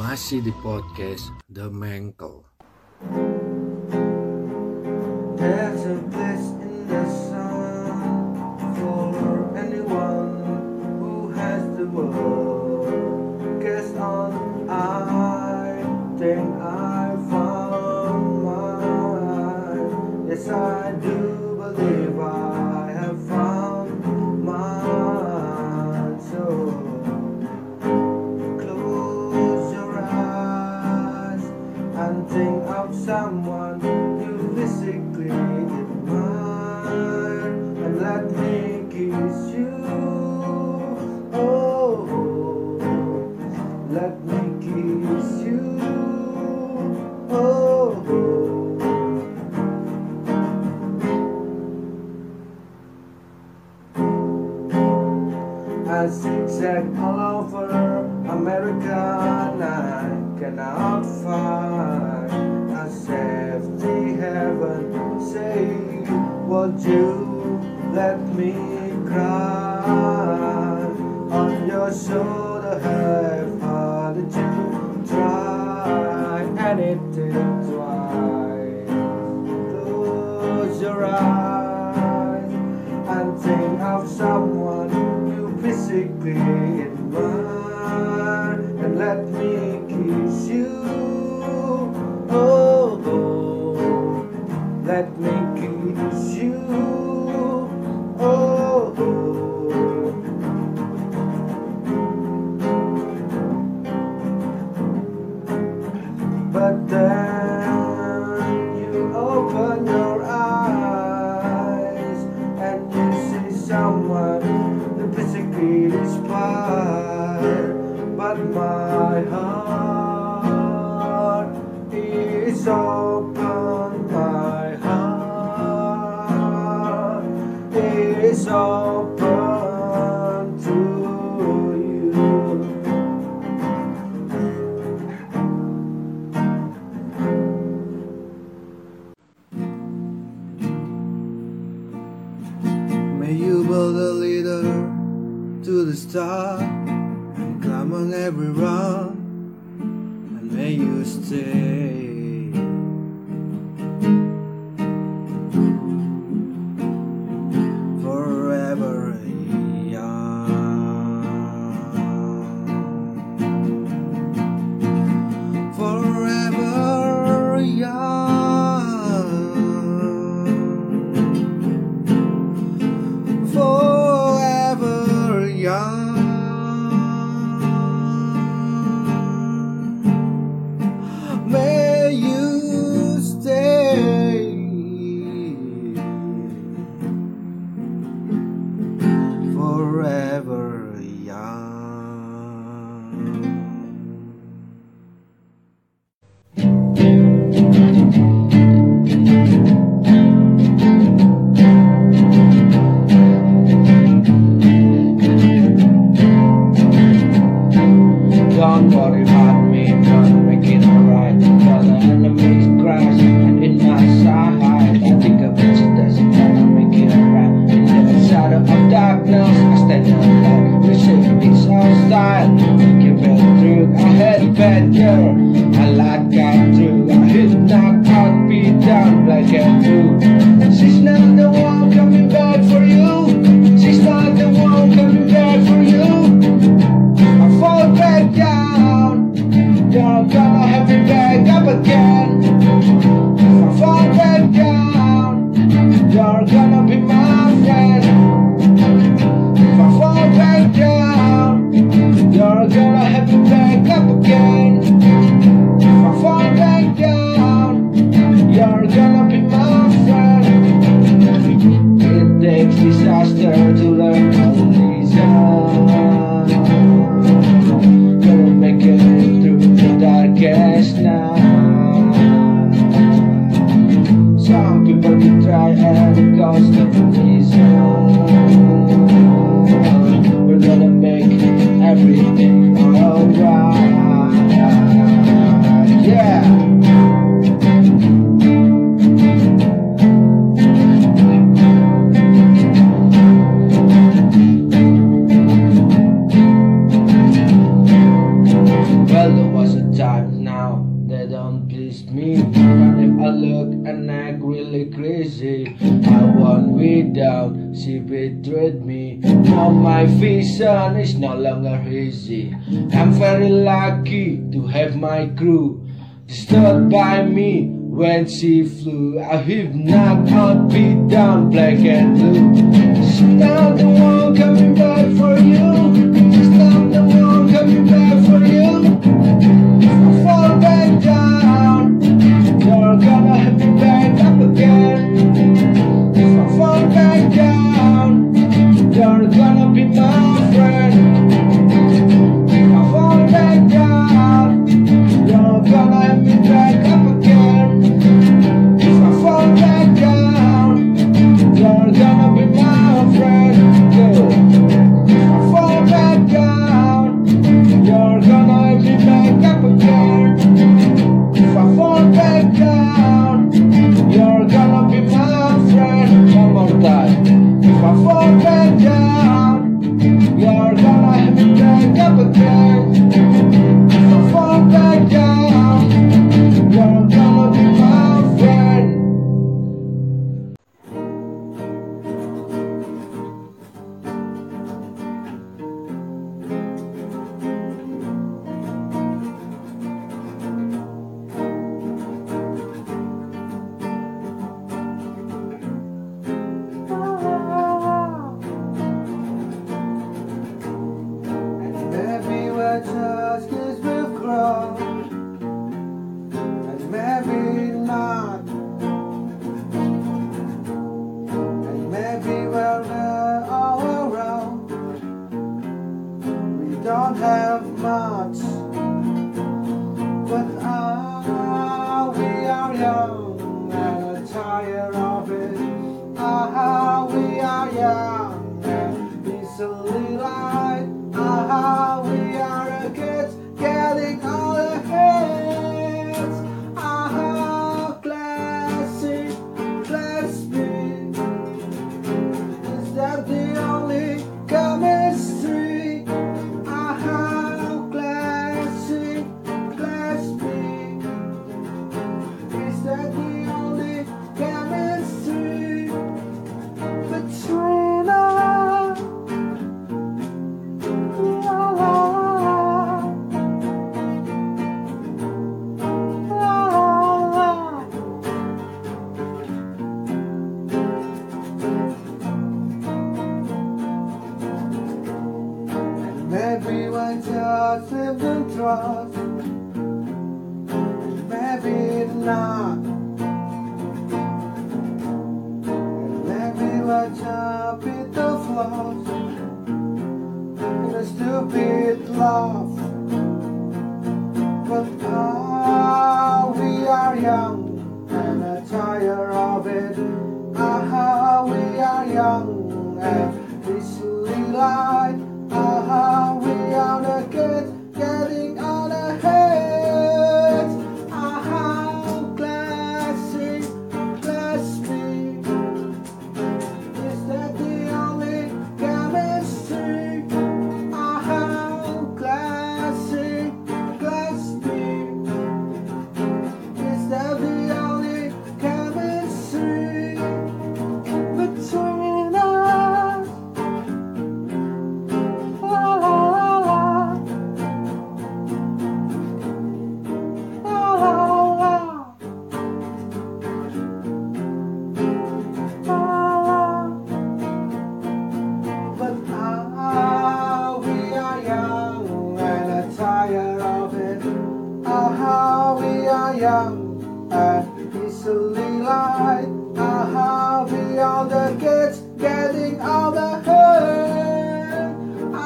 Masih di podcast The Mangkel. There's a place in the sun for anyone who has the world. Guess on I think I found mine. Yes, I do believe I have found mine. So close your eyes and think of someone you physically admire, and let me kiss you. Oh, let me kiss you. Oh, I zigzag all over America, and I cannot find a safety heaven. Say, would you let me cry on your shoulder? How did you try anything twice? Close your eyes and think of someone you physically admire, and let me kiss you. Oh, let me kiss you. Oh, but then you open your eyes and you see someone who physically inspired, but my heart is open. My heart is open to you. May you build a leader to the star and climb on every run, and may you stay forever young, forever young, forever young. May you stay forever young. Don't worry about me, gonna make it alright. Cause the enemies crash and in my side, I think of it, that's gonna make it alright. In the shadow of darkness, I stand alone. You say it's our style, make it better through. I had better, I like got through. I hit knock out, beat down, black and blue. She's not the one coming back for you. She's not the one coming back for you. I fall back down, you're gonna have me back up again. If I fall back down, you're gonna be my friend. If I fall back down, you're gonna have me back up again. If I fall back down, you're gonna be my friend. It takes disaster to learn how to listen. Gonna make it through the darkest night. Some people can try and it goes to reason. We're gonna make everything alright. crazy. I won without, she betrayed me. Now my vision is no longer hazy. I'm very lucky to have my crew. They stood by me when she flew. I have knocked out, beat down, black and blue. She's not the one coming back for you. She's not the one coming back for you. If I fall back down, you're gonna have me back up again. If I fall back down, you're gonna be my friend. If I fall back down, you're gonna have me back up again. If I fall back down, you're gonna be my friend. If I fall back down, you're gonna have me back up again. If I fall back down, you're gonna be my friend. One more time. If I fall back down, you're gonna have me back up again. If I fall back down, you're gonna be my friend. Maybe we're just kids we've grown, and maybe not. And maybe when we're all around, we don't have much. But we are young and tired of it. We are young and easily lied. We are kids getting all the hits. Classic, classic. Is that the only chemistry? Classic, classic. Is that the only chemistry between us? Maybe we just lived in trust, maybe not. And maybe we just beat the flaws in a stupid love. But we are young and tired of it. We are young and easily lied. We are the kids getting on the heads. Classic, classic. Is that the only chemistry? Classic, classic. Is that the only chemistry between us? But we are young and tired of it. We are young and easily lied. We are the kids getting all the hurt.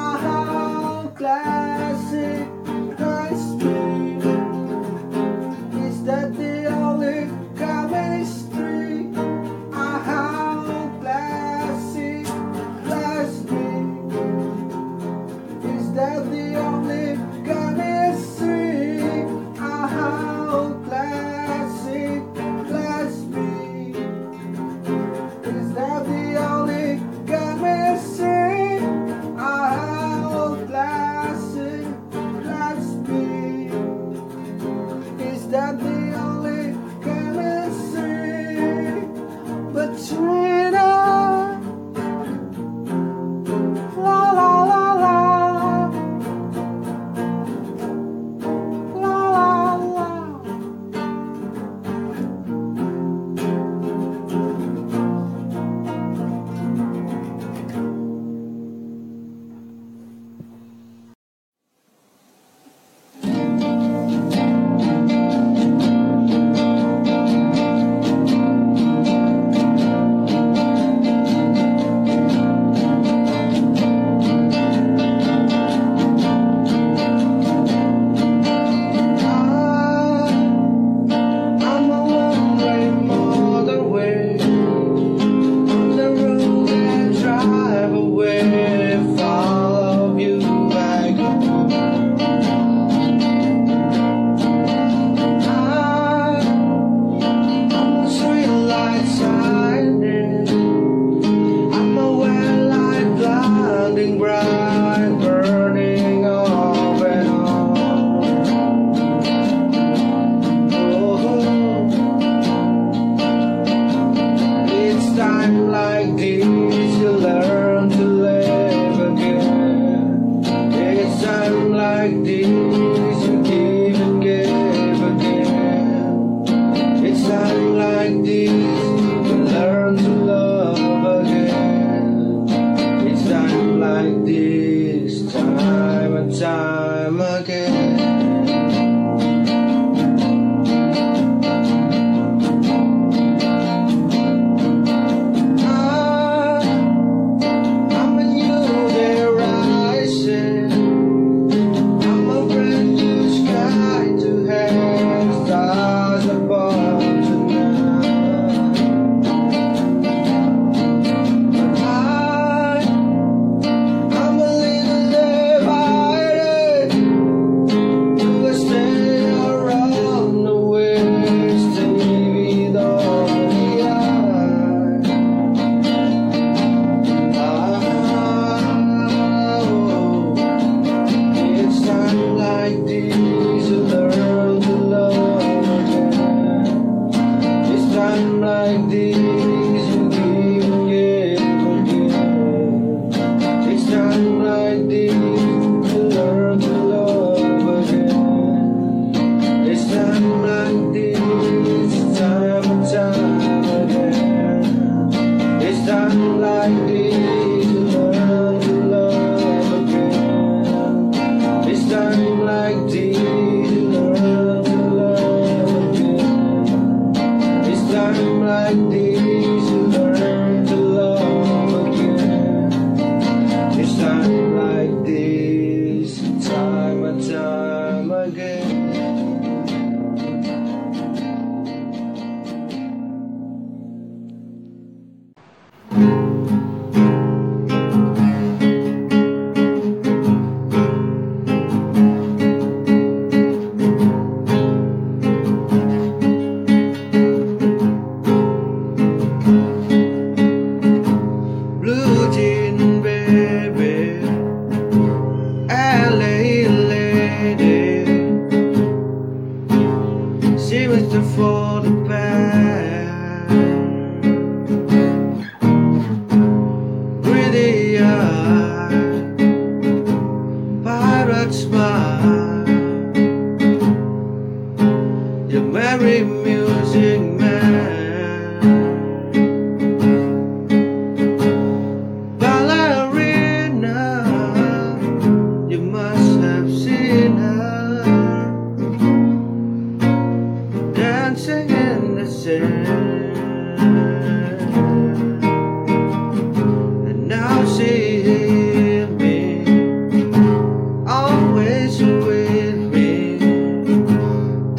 Classic, classic. Is that the only chemistry? Classic, classic. Is that the only chemistry? Classic, classic. Is that the only chemistry?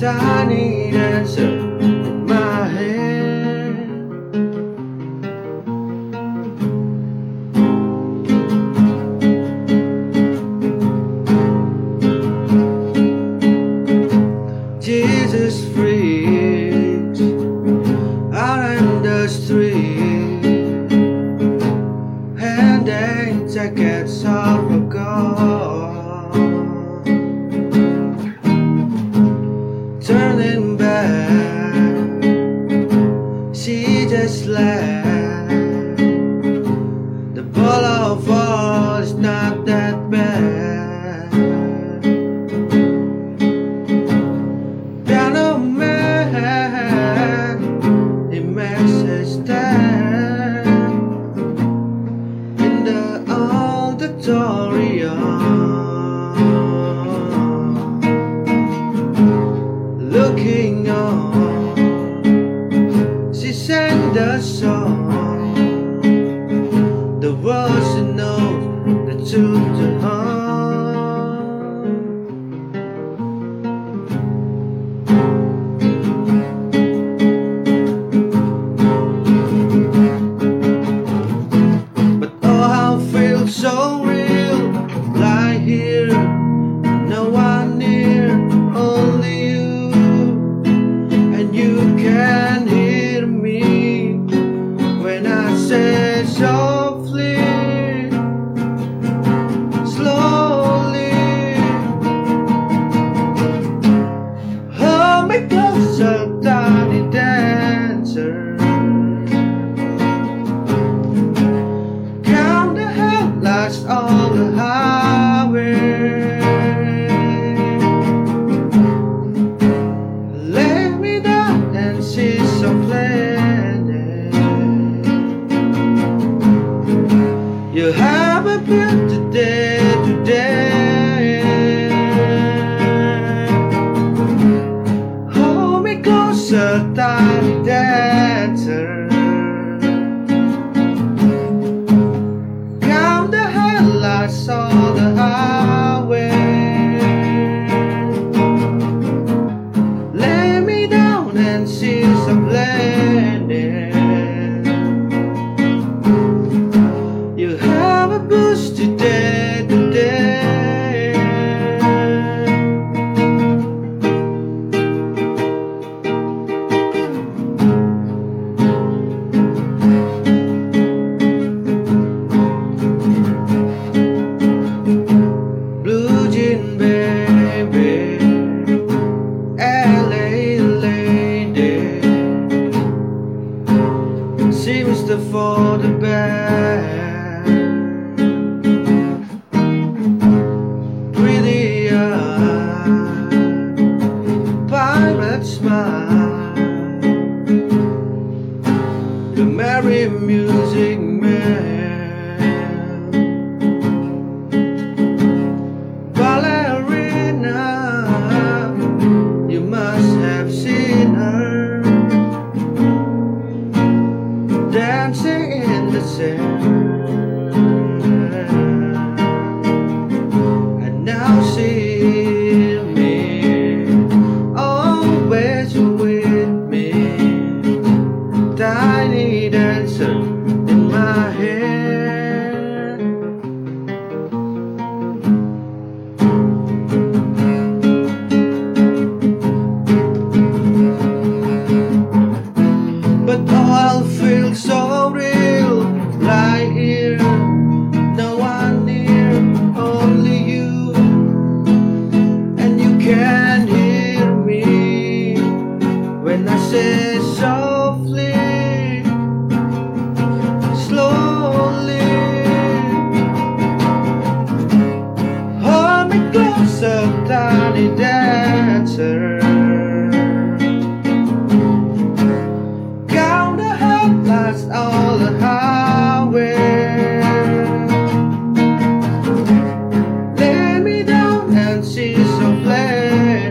tiny dancer in my head. Jesus freaks out in the street, handing tickets of a gold, turning back, she just left. The ball of all is not that bad. Piano man, he makes his stand in the auditorium, looking on. She sang the song, the words she knows that took to her. But oh, how I feel so real, lie here, no one near, only you, and you can hear me when I say softly, slowly, hold me closer, tiny dancer. Count the headlights on the highway. Lay me down and see some planet. You have a beautiful day today. Hold me closer, tiny dancer. Count the headlights on the highway. Lay me down and see some planet. You have a boost today, today. Blue jean baby, LA lady, seems to for the best. Pretty eyes, pirate smile, the merry music man. You must have seen her dancing in the sand, and now see me always with me, tiny dancer in my head. But oh, I feel so real, lie here, no one near, only you, and you can hear me when I say softly, slowly, hold me closer, tiny dancer. Lights on the highway. Lay me down and see some flame.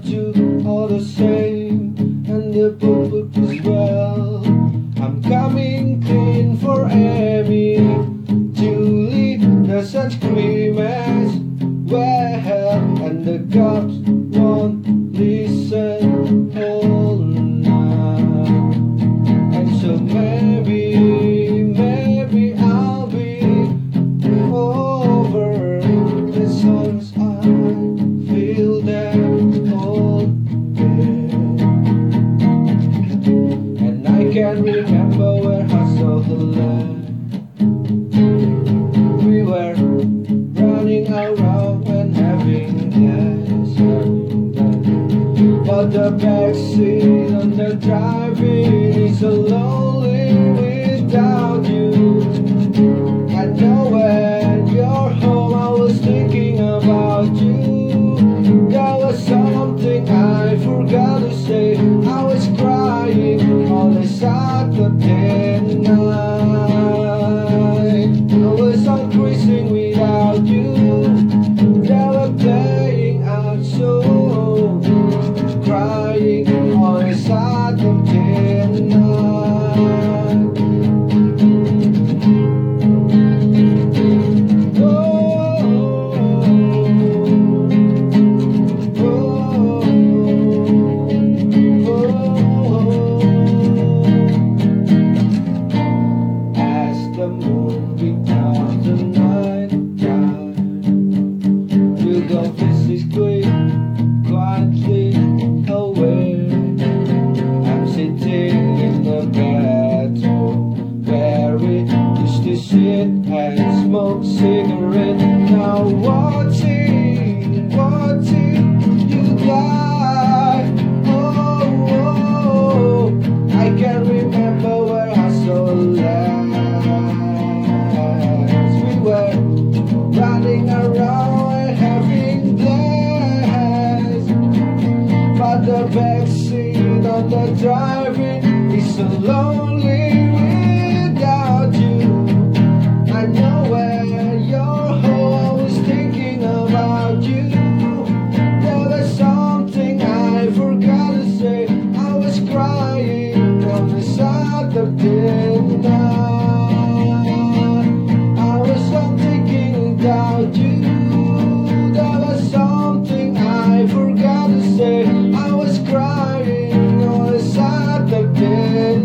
you all the same, and the book as well. I'm coming clean for Amy, Julie, the sunscreen as well, and the cops won't listen all night. And so maybe I'll be over as long as I feel that old again. And I can't remember where I saw the land. We were running around and having gas, but the backseat on the driving is so lonely without you. I know when you're home I was thinking about you. There was something I forgot to say. I was crying on a Saturday night. I was on cruising without you. They were playing our song, crying on a Saturday night. As the moon becomes the night time, you go physically quietly away. I'm sitting in the bathroom where we used to sit and smoke cigarettes. Now watching you die. Oh, I can't remember where I saw last. We were running around and having blast, but the backseat on the driving is so lonely without you. I know when you're home I was thinking about you. There was something I forgot to say. I was crying on a Saturday night. I was thinking about you. There was something I forgot to say. I was crying on a Saturday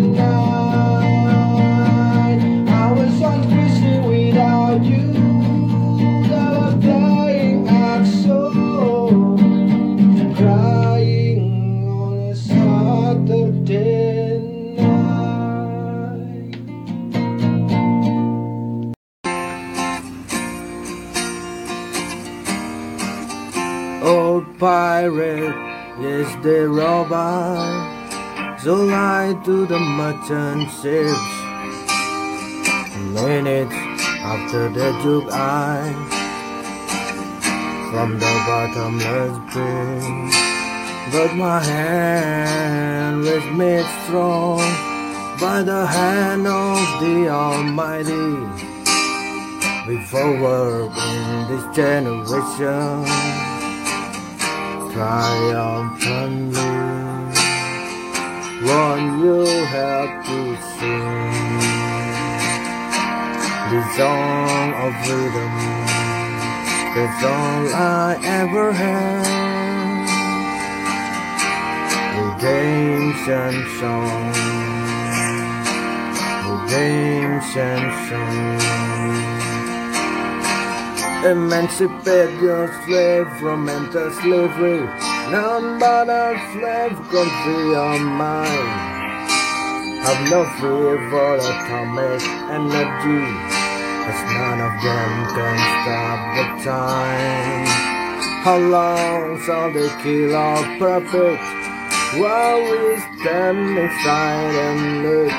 night. I was on cruising without you. They were playing our song, crying on a Saturday night. Old pirate, yes they rob us, so lie to the merchant ships. Minutes after they took I from the bottomless pit, but my hand was made strong by the hand of the Almighty. We forward in this generation triumphantly. One you have to sing the song of freedom. That's all I ever had. Redemption song, redemption song. Emancipate your slave from mental slavery. None but a slave can free your mind. Have no fear for atomic energy, as none of them can stop the time. How long shall they kill our prophet while we stand aside and look?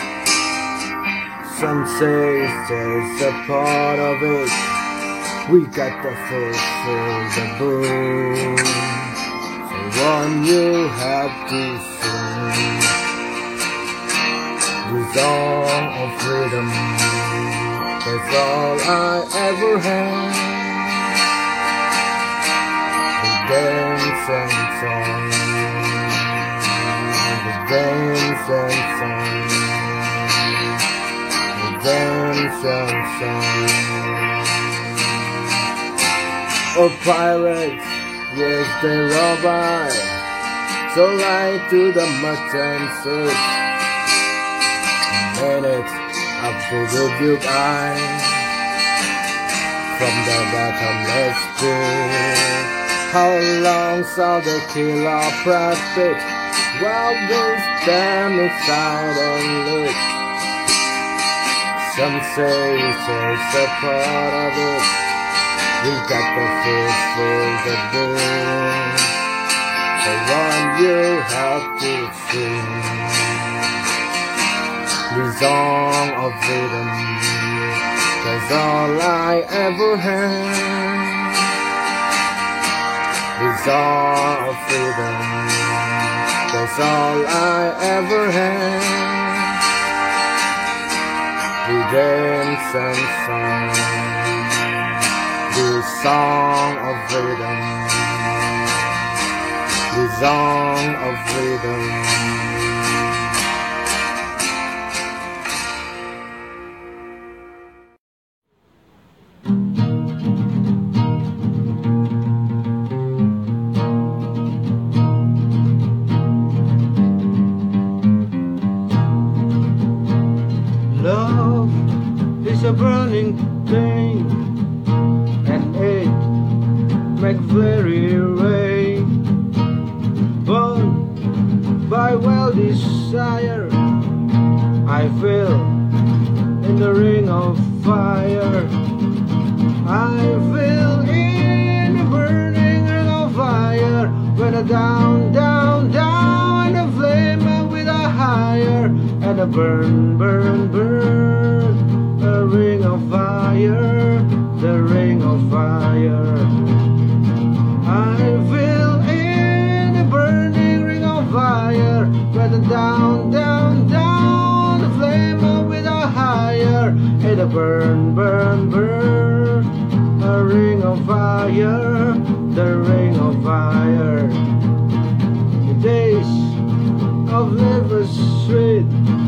Some say it's a part of it. We got to fulfill the book. So one you have to sing the song of freedom. That's all I ever had. dance and song, the dance and song, the dance and song. Oh pirates, yes they rob by, so light to the merchant ships, and it's up to the big eye from the bottomless pit. How long shall they kill our profit while we stand aside and look? Some say it's a part of it. We got the fish for the boom, the one you have to sing. The song of freedom, that's all I ever had. The song of freedom, that's all I ever had. The dance and song, the song of freedom, the song of freedom. Love is a burning thing, and it makes very rain. Burned by wild desire, I feel in the ring of fire. I feel in the burning ring of fire. When I down, down, down, the flame with a higher, and a burn, burn, burn, a ring of fire, the ring of fire. I feel in the burning ring of fire. When I down, down, down, the flame with a higher, and a burn, burn, burn, a ring of fire, the ring of fire. The days of liver sweet,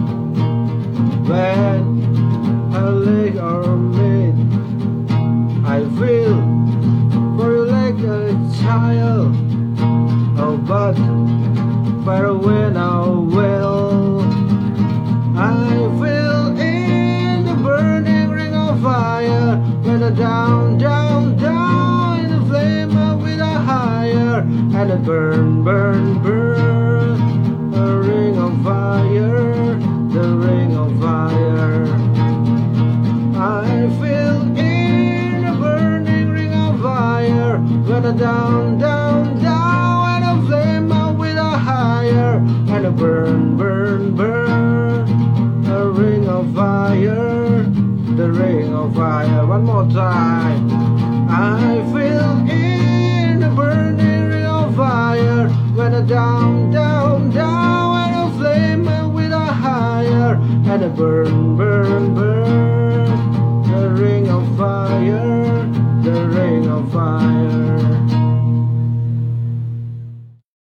when a leg or mid, I feel for you like a child. Oh, but far away now, well, I feel in the burning ring of fire. When I down, down, down, in the flame with a higher, and a burn, burn, burn, a ring of fire, the ring of fire. I feel in the burning ring of fire. When I down, down, down, and a flame with a higher, and a burn, burn, burn, a ring of fire, the ring of fire. One more time. I feel in the burning ring of fire. When I down, down, down, and a flame with a higher, and a burn, burn, burn, the ring of fire, the ring of fire.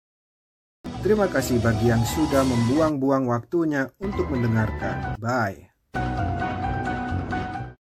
Terima kasih bagi yang sudah membuang-buang waktunya untuk mendengarkan. Bye.